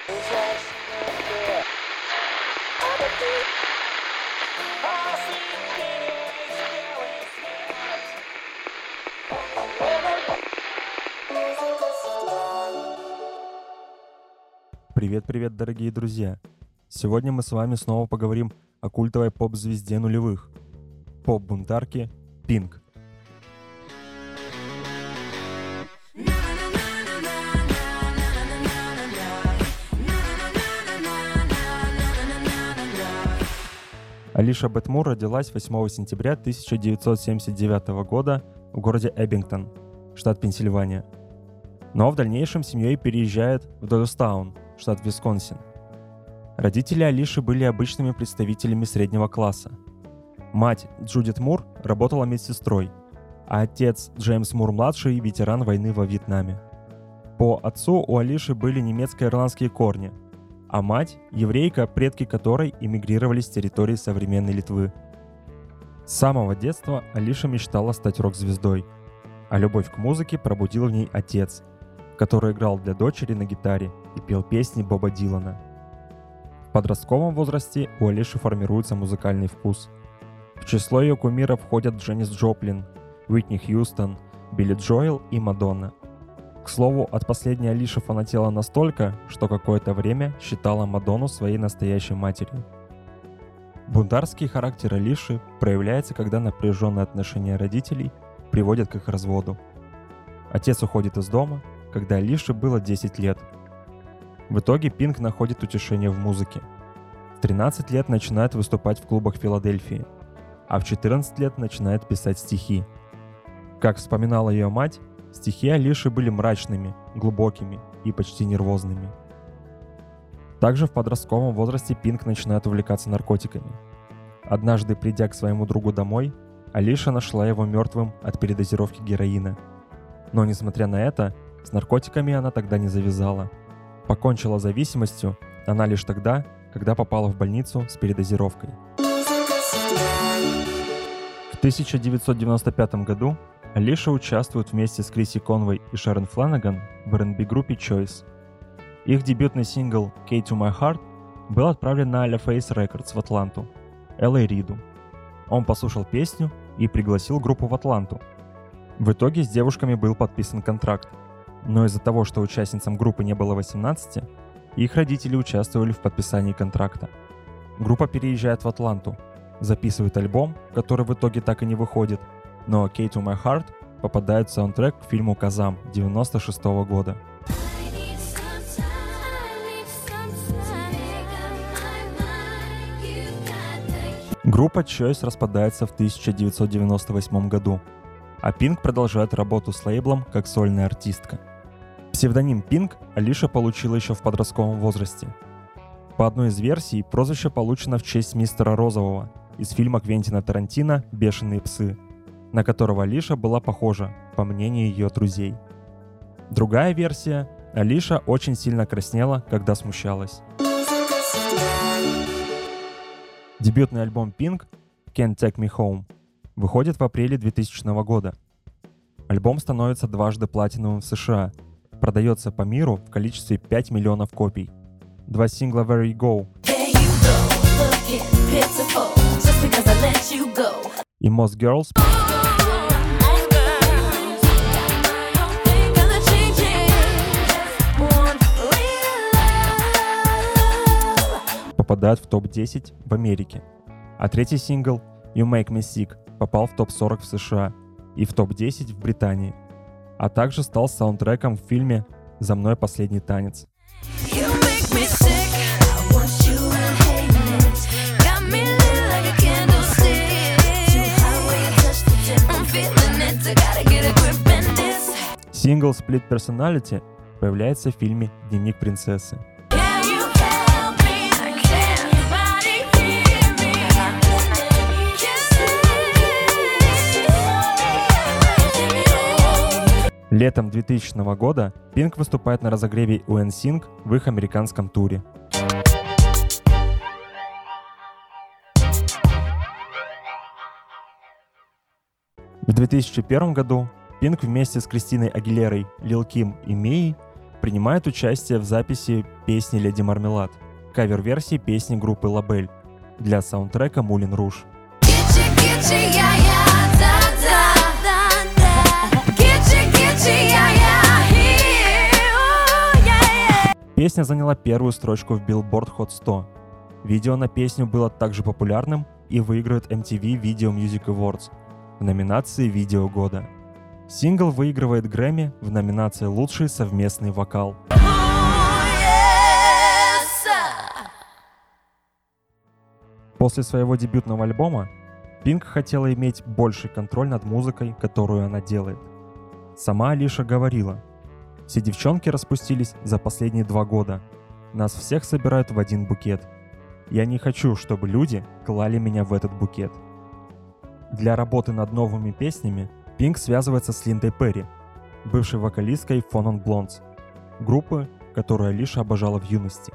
Привет-привет, дорогие друзья! Сегодня мы с вами снова поговорим о культовой поп-звезде нулевых, поп-бунтарке Pink. Алиша Бет Мур родилась 8 сентября 1979 года в городе Эббингтон, штат Пенсильвания. Но в дальнейшем семьей переезжает в Дойлстаун, штат Висконсин. Родители Алиши были обычными представителями среднего класса. Мать Джудит Мур работала медсестрой, а отец Джеймс Мур-младший – ветеран войны во Вьетнаме. По отцу у Алиши были немецко-ирландские корни, а мать – еврейка, предки которой эмигрировали с территории современной Литвы. С самого детства Алиша мечтала стать рок-звездой, а любовь к музыке пробудил в ней отец, который играл для дочери на гитаре и пел песни Боба Дилана. В подростковом возрасте у Алиши формируется музыкальный вкус. В число ее кумиров входят Дженнис Джоплин, Уитни Хьюстон, Билли Джоэл и Мадонна. К слову, от последней Алиша фанатела настолько, что какое-то время считала Мадонну своей настоящей матерью. Бунтарский характер Алиши проявляется, когда напряженные отношения родителей приводят к их разводу. Отец уходит из дома, когда Алише было 10 лет. В итоге Пинк находит утешение в музыке. В 13 лет начинает выступать в клубах Филадельфии, а в 14 лет начинает писать стихи. Как вспоминала ее мать, стихи Алиши были мрачными, глубокими и почти нервозными. Также в подростковом возрасте Пинк начинает увлекаться наркотиками. Однажды, придя к своему другу домой, Алиша нашла его мертвым от передозировки героина. Но несмотря на это, с наркотиками она тогда не завязала. Покончила с зависимостью она лишь тогда, когда попала в больницу с передозировкой. В 1995 году Алиша участвует вместе с Криси Конвой и Шерон Фланаган в R&B-группе Choice. Их дебютный сингл «Key to My Heart» был отправлен на LaFace Records в Атланту, Л.А. Риду. Он послушал песню и пригласил группу в Атланту. В итоге с девушками был подписан контракт, но из-за того, что участницам группы не было 18, их родители участвовали в подписании контракта. Группа переезжает в Атланту, записывает альбом, который в итоге так и не выходит, но «Key to My Heart» попадает в саундтрек к фильму «Казам» 1996 года. Группа Choice распадается в 1998 году, а Pink продолжает работу с лейблом как сольная артистка. Псевдоним Pink Алиша получила еще в подростковом возрасте. По одной из версий, прозвище получено в честь мистера Розового из фильма Квентина Тарантино «Бешеные псы», на которого Алиша была похожа, по мнению ее друзей. Другая версия – Алиша очень сильно краснела, когда смущалась. Дебютный альбом Pink «Can't Take Me Home» выходит в апреле 2000 года. Альбом становится дважды платиновым в США, продается по миру в количестве 5 миллионов копий. Два сингла «Where You Go» и «Most Girls» попадают в топ-10 в Америке, а третий сингл «You Make Me Sick» попал в топ-40 в США и в топ-10 в Британии, а также стал саундтреком в фильме «За мной последний танец». Сингл «Split Personality» появляется в фильме «Дневник принцессы». Летом 2000 года Pink выступает на разогреве у NSYNC в их американском туре. В 2001 году Pink вместе с Кристиной Агилерой, Лил Ким и Мией принимает участие в записи песни «Леди Мармелад», кавер-версии песни группы Лабель для саундтрека «Мулен Руж». Песня заняла первую строчку в Billboard Hot 100. Видео на песню было также популярным и выигрывает MTV Video Music Awards в номинации «Видео года». Сингл выигрывает Грэмми в номинации «Лучший совместный вокал». После своего дебютного альбома Пинк хотела иметь больший контроль над музыкой, которую она делает. Сама Алиша говорила: «Все девчонки распустились за последние 2 года. Нас всех собирают в один букет. Я не хочу, чтобы люди клали меня в этот букет». Для работы над новыми песнями Пинк связывается с Линдой Перри, бывшей вокалисткой Fun on Blondes, группы, которую Алиша обожала в юности.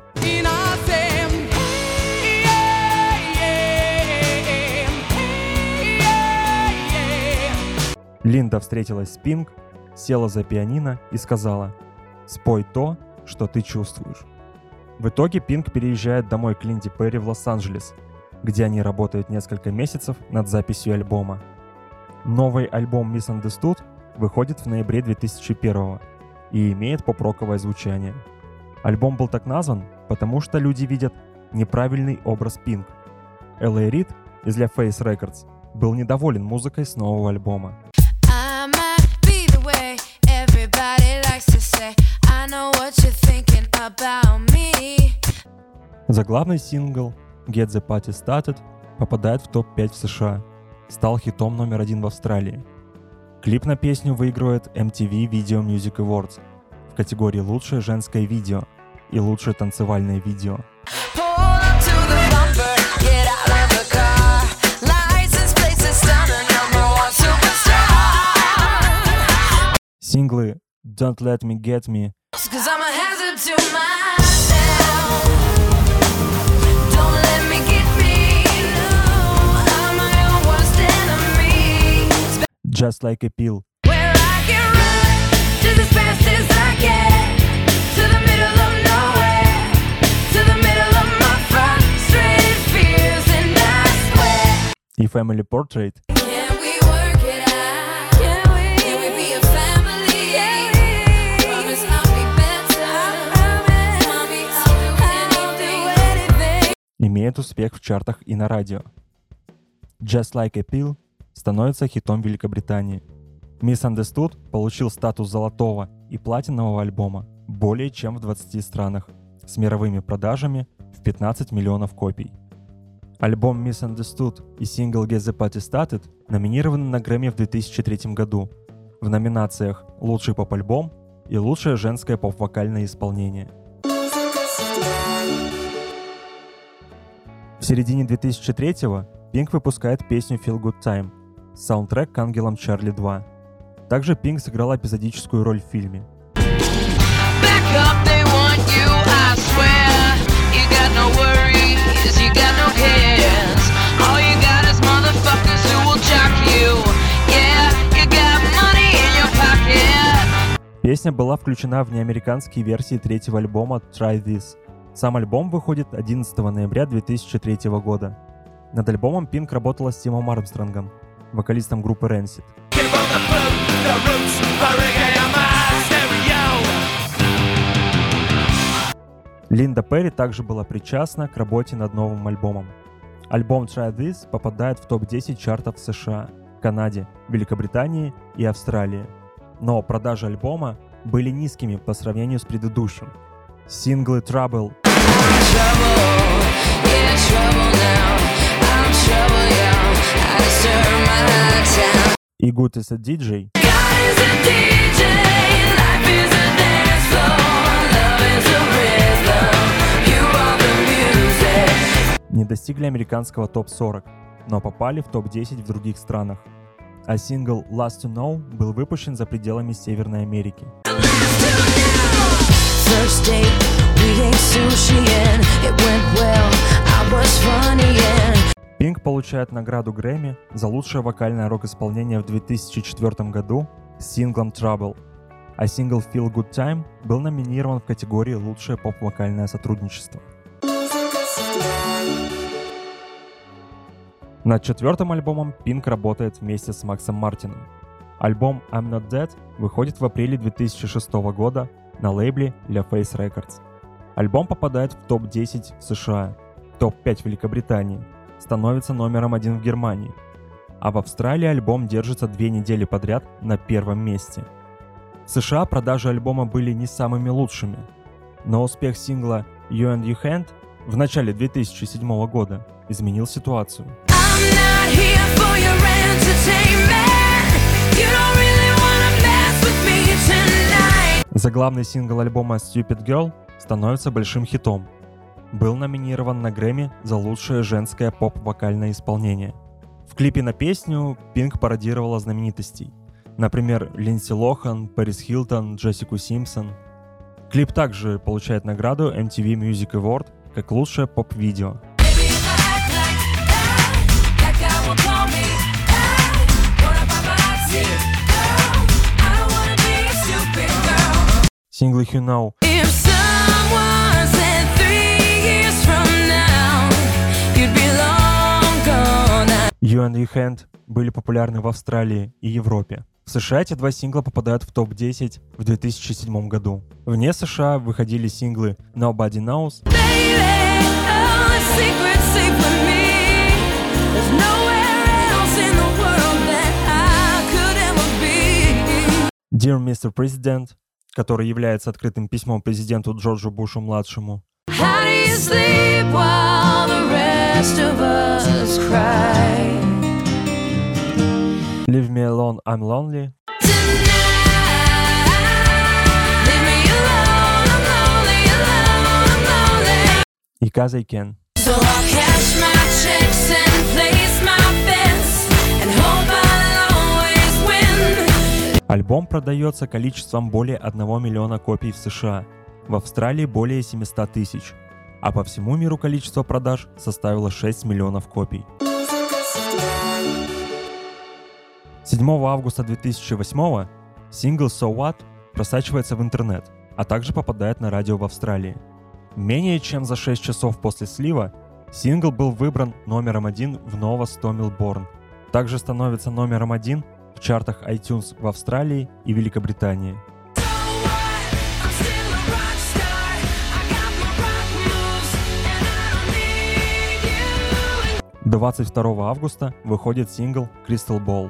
Линда встретилась с Пинк, села за пианино и сказала: «Спой то, что ты чувствуешь». В итоге Пинк переезжает домой к Линде Перри в Лос-Анджелес, где они работают несколько месяцев над записью альбома. Новый альбом Misunderstood выходит в ноябре 2001 и имеет поп-роковое звучание. Альбом был так назван, потому что люди видят неправильный образ Пинк. Л.А. Рид из La Face Records был недоволен музыкой с нового альбома. Заглавный сингл Get the Party Started попадает в топ-5 в США, стал хитом номер 1 в Австралии. Клип на песню выигрывает MTV Video Music Awards в категории «Лучшее женское видео» и «Лучшее танцевальное видео». Синглы Don't Let Me Get Me Just Like a Pill и Family Portrait имеет успех в чартах и на радио. Just Like a Pill становится хитом Великобритании. Misunderstood получил статус золотого и платинового альбома более чем в 20 странах, с мировыми продажами в 15 миллионов копий. Альбом Misunderstood и сингл Get the Party Started номинированы на Грэмми в 2003 году в номинациях «Лучший поп-альбом» и «Лучшее женское поп-вокальное исполнение». В середине 2003-го Пинк выпускает песню Feel Good Time, саундтрек к «Ангелам Чарли 2». Также Пинк сыграла эпизодическую роль в фильме. Песня была включена в неамериканские версии третьего альбома Try This. Сам альбом выходит 11 ноября 2003 года. Над альбомом Пинк работала с Тимом Армстронгом, вокалистом группы Rancid. Линда Перри также была причастна к работе над новым альбомом. Альбом Try This попадает в топ-10 чартов в США, Канаде, Великобритании и Австралии. Но продажи альбома были низкими по сравнению с предыдущим. Синглы Trouble и Good Is a DJ не достигли американского топ-40, но попали в топ-10 в других странах. А сингл Last to Know был выпущен за пределами Северной Америки. Пинк получает награду Грэмми за лучшее вокальное рок-исполнение в 2004 году с синглом Trouble. а сингл «Feel Good Time» был номинирован в категории «Лучшее поп-вокальное сотрудничество». Над четвертым альбомом Pink работает вместе с Максом Мартином. Альбом «I'm Not Dead» выходит в апреле 2006 года на лейбле LaFace Records. Альбом попадает в топ-10 в США, топ-5 в Великобритании, становится номером 1 в Германии, а в Австралии альбом держится 2 недели подряд на первом месте. В США продажи альбома были не самыми лучшими, но успех сингла «You and Your Hand» в начале 2007 года изменил ситуацию. Заглавный сингл альбома «Stupid Girl» становится большим хитом. Был номинирован на Грэмми за лучшее женское поп-вокальное исполнение. В клипе на песню Pink пародировала знаменитостей. Например, Линдси Лохан, Пэрис Хилтон, Джессику Симпсон. Клип также получает награду MTV Music Award как лучшее поп-видео. Синглы «You Know» «You and Your Hand» были популярны в Австралии и Европе. В США эти два сингла попадают в топ-10 в 2007 году. Вне США выходили синглы «Nobody Knows», «Dear Mr. President», который является открытым письмом президенту Джорджу Бушу-младшему, «Leave Me Alone, I'm Lonely», и «Cause I Can». Альбом продается количеством более 1 миллиона копий в США, в Австралии более 700 тысяч, а по всему миру количество продаж составило 6 миллионов копий. 7 августа 2008 сингл «So What» просачивается в интернет, а также попадает на радио в Австралии. Менее чем за 6 часов после слива сингл был выбран номером 1 в Nova 100 Melbourne. Также становится номером 1 в чартах iTunes в Австралии и Великобритании. 22 августа выходит сингл «Crystal Ball».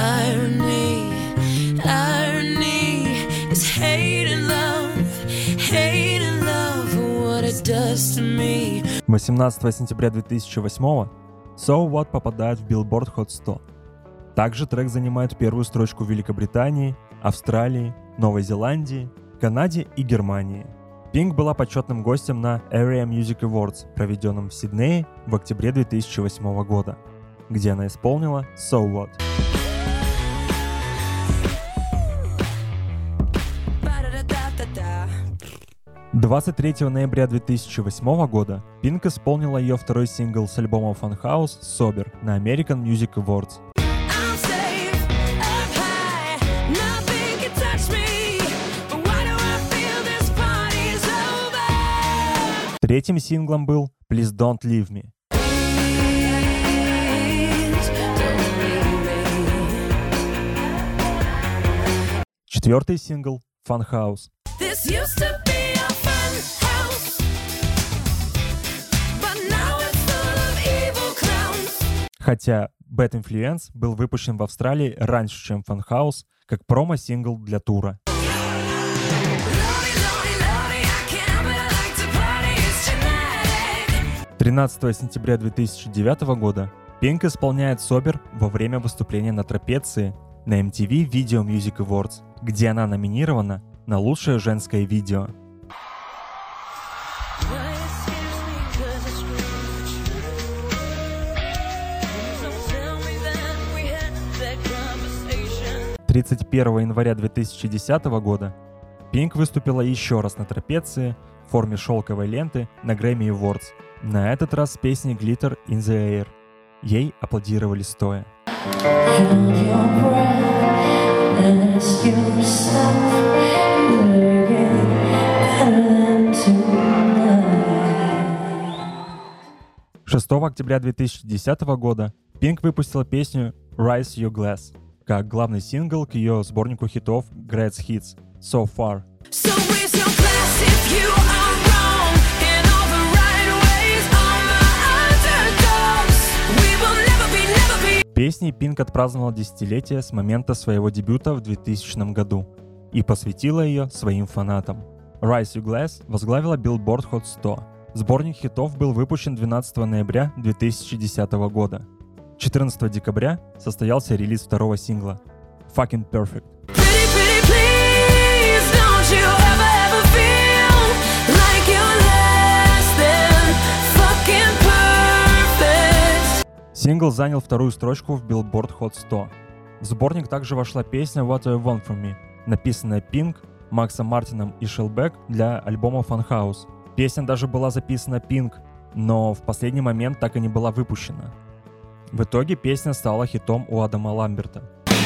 18 сентября 2008 «So What» попадает в Billboard Hot 100. Также трек занимает первую строчку в Великобритании, Австралии, Новой Зеландии, Канаде и Германии. Pink была почетным гостем на Area Music Awards, проведенном в Сиднее в октябре 2008 года, где она исполнила «So What». — 23 ноября 2008 года Pink исполнила ее второй сингл с альбома Funhouse «Sober» на American Music Awards. Третьим синглом был «Please Don't Leave Me». Четвертый сингл «Funhouse». Хотя Bad Influence был выпущен в Австралии раньше, чем Funhouse, как промо-сингл для тура. 13 сентября 2009 года Pink исполняет «Sober» во время выступления на трапеции на MTV Video Music Awards, где она номинирована на лучшее женское видео. — 31 января 2010 года Pink выступила еще раз на трапеции в форме шелковой ленты на Grammy Awards, на этот раз с песней «Glitter in the Air». Ей аплодировали стоя. Ask yourself, will you get better tonight? 6 октября 2010 года Pink выпустила песню Raise Your Glass как главный сингл к ее сборнику хитов Greatest Hits So Far. So raise your glass if you are wrong in all the right ways. All my underdogs, we will never be. Песней Pink отпраздновала десятилетие с момента своего дебюта в 2000 году и посвятила ее своим фанатам. Raise Your Glass возглавила Billboard Hot 100. Сборник хитов был выпущен 12 ноября 2010 года. 14 декабря состоялся релиз второго сингла Fucking Perfect. Pretty please, don't you ever feel like you're less than fucking perfect. Сингл занял вторую строчку в Billboard Hot 100. В сборник также вошла песня What Do You Want From Me, написанная Pink, Максом Мартином и Shellback для альбома Funhouse. Песня даже была записана Pink, но в последний момент так и не была выпущена. В итоге песня стала хитом у Адама Ламберта.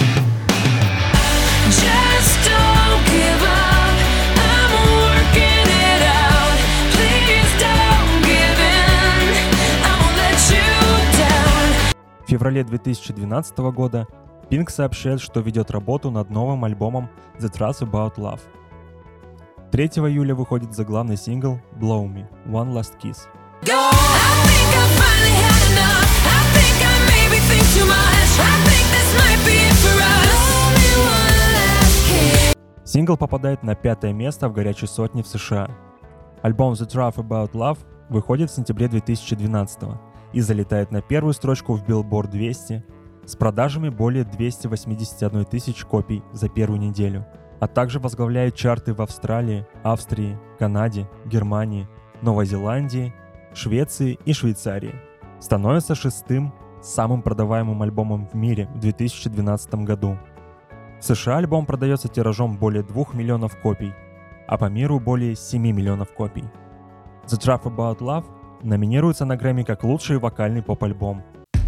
Just don't give up. I'm working it out. Please don't give in. I won't let you down. В феврале 2012 года Pink сообщает, что ведет работу над новым альбомом The Truth About Love. 3 июля выходит заглавный сингл Blow Me – One Last Kiss. I think I finally had enough. I think I maybe think too much. I think this might be it for us. Only one last kiss. Сингл попадает на 5 место в горячей сотне в США. Альбом The Truth About Love выходит в сентябре 2012 и залетает на первую строчку в Billboard 200 с продажами более 281 тысяч копий за первую неделю, а также возглавляет чарты в Австралии, Австрии, Канаде, Германии, Новой Зеландии, Швеции и Швейцарии. Становится 6-м самым продаваемым альбомом в мире в 2012 году. В США альбом продается тиражом более 2 миллионов копий, а по миру более 7 миллионов копий. The Truth About Love номинируется на Грэмми как лучший вокальный поп-альбом.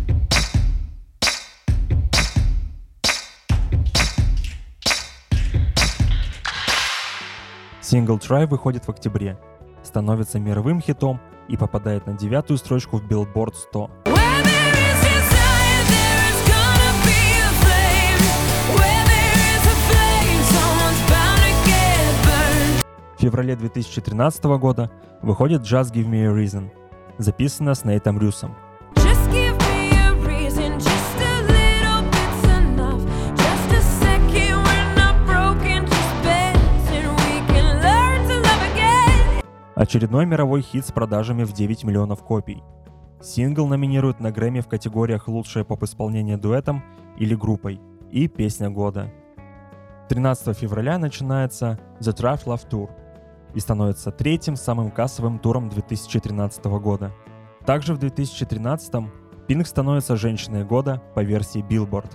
Сингл Try выходит в октябре, становится мировым хитом и попадает на 9-ю строчку в Billboard 100. Where there is desire, there is gonna be a flame. Where there is a flame, someone's bound to get burned. В феврале 2013 года выходит Just Give Me a Reason, записанная с Нейтом Рюсом. Just give me a reason, just a little bit's enough. Just a second, we're not broken, just bends, and we can learn to love again. Очередной мировой хит с продажами в 9 миллионов копий. Сингл номинируют на Грэмми в категориях «Лучшее поп-исполнение дуэтом» или группой и «Песня года». 13 февраля начинается The Truth Love Tour и становится третьим самым кассовым туром 2013 года. Также в 2013-м Pink становится женщиной года по версии Billboard.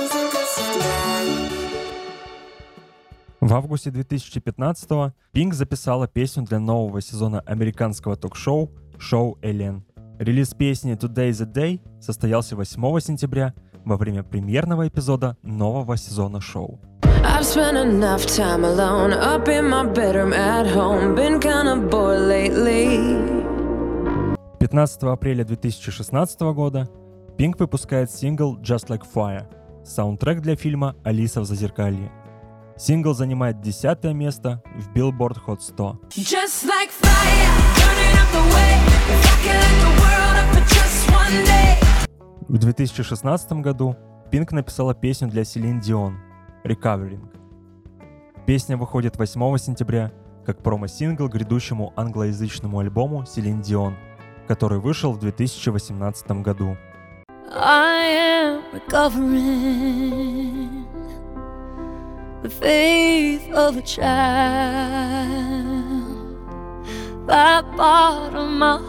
В августе 2015-го Pink записала песню для нового сезона американского ток-шоу «Шоу Эллен». Релиз песни «Today the Day» состоялся 8 сентября во время премьерного эпизода нового сезона шоу. I've spent enough time alone, up in my bedroom at home, been kinda bored lately. 15 апреля 2016 года Pink выпускает сингл «Just Like Fire», саундтрек для фильма «Алиса в Зазеркалье». Сингл занимает 10 место в Billboard Hot 100. Just like fire, burning up the way. If I could light the world up for just one day. В 2016 году Pink написала песню для Селин Дион «Recovering». Песня выходит 8 сентября как промо-сингл к грядущему англоязычному альбому Селин Дион, который вышел в 2018 году. I am recovering the faith of a child, that part of my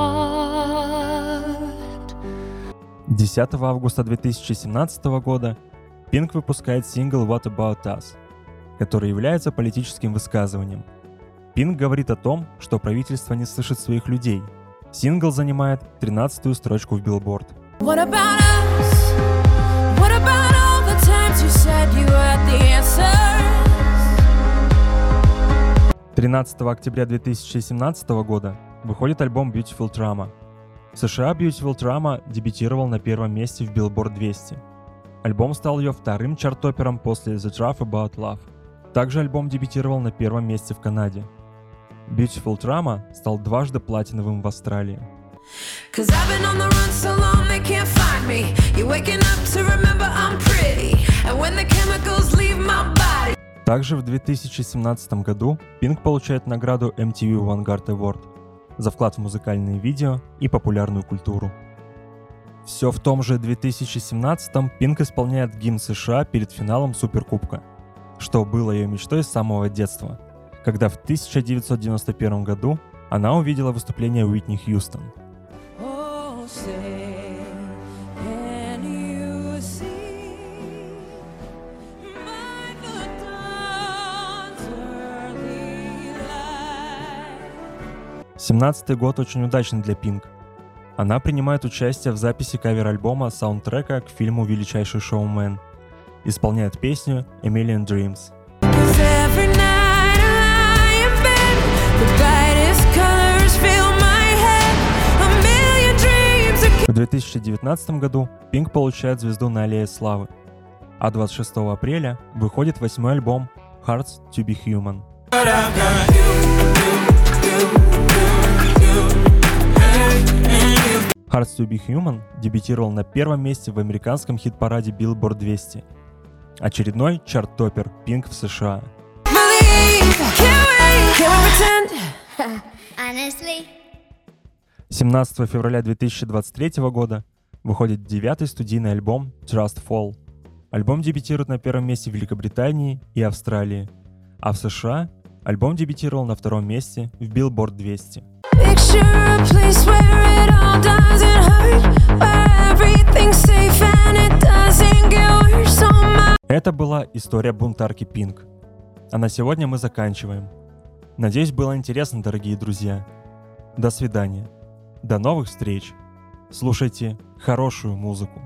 heart. 10 августа 2017 года Pink выпускает сингл What About Us, который является политическим высказыванием. Pink говорит о том, что правительство не слышит своих людей. Сингл занимает 13-ю строчку в Billboard. What about us? What about all the times you said you had the answer? 13 октября 2017 года выходит альбом Beautiful Trauma. В США Beautiful Trauma дебютировал на первом месте в Billboard 200. Альбом стал ее вторым чарт-топпером после The Truth About Love. Также альбом дебютировал на первом месте в Канаде. Beautiful Trauma стал дважды платиновым в Австралии. Cause I've been on the run so long they can't find me. You're waking up to remember I'm pretty. And when the chemicals leave my body. Также в 2017 году Pink получает награду MTV Vanguard Award за вклад в музыкальные видео и популярную культуру. Все в том же 2017-м Pink исполняет гимн США перед финалом Суперкубка, что было ее мечтой с самого детства, когда в 1991 году она увидела выступление Уитни Хьюстон. Oh, say, can you see by the dawn's early light? 17-й год очень удачный для Pink. Она принимает участие в записи кавер-альбома саундтрека к фильму «Величайший шоумен». Исполняет песню «A Million Dreams». Cause every night I lie in bed, the brightest colors fill my head. A million dreams are В 2019 году Pink получает звезду на аллее славы, а 26 апреля выходит 8-й альбом Hearts to be Human. Hearts to be Human дебютировал на первом месте в американском хит-параде Billboard 200. Очередной чарт-топпер Pink в США. believe. Can't we pretend? Honestly. 17 февраля 2023 года выходит 9-й студийный альбом Trust Fall. Альбом дебютирует на первом месте в Великобритании и Австралии, а в США альбом дебютировал на втором месте в Billboard 200. Picture a place where it all doesn't hurt, where everything's safe and it doesn't get worse on my. Это была история бунтарки Pink. А на сегодня мы заканчиваем. Надеюсь, было интересно, дорогие друзья. До свидания. До новых встреч. Слушайте хорошую музыку.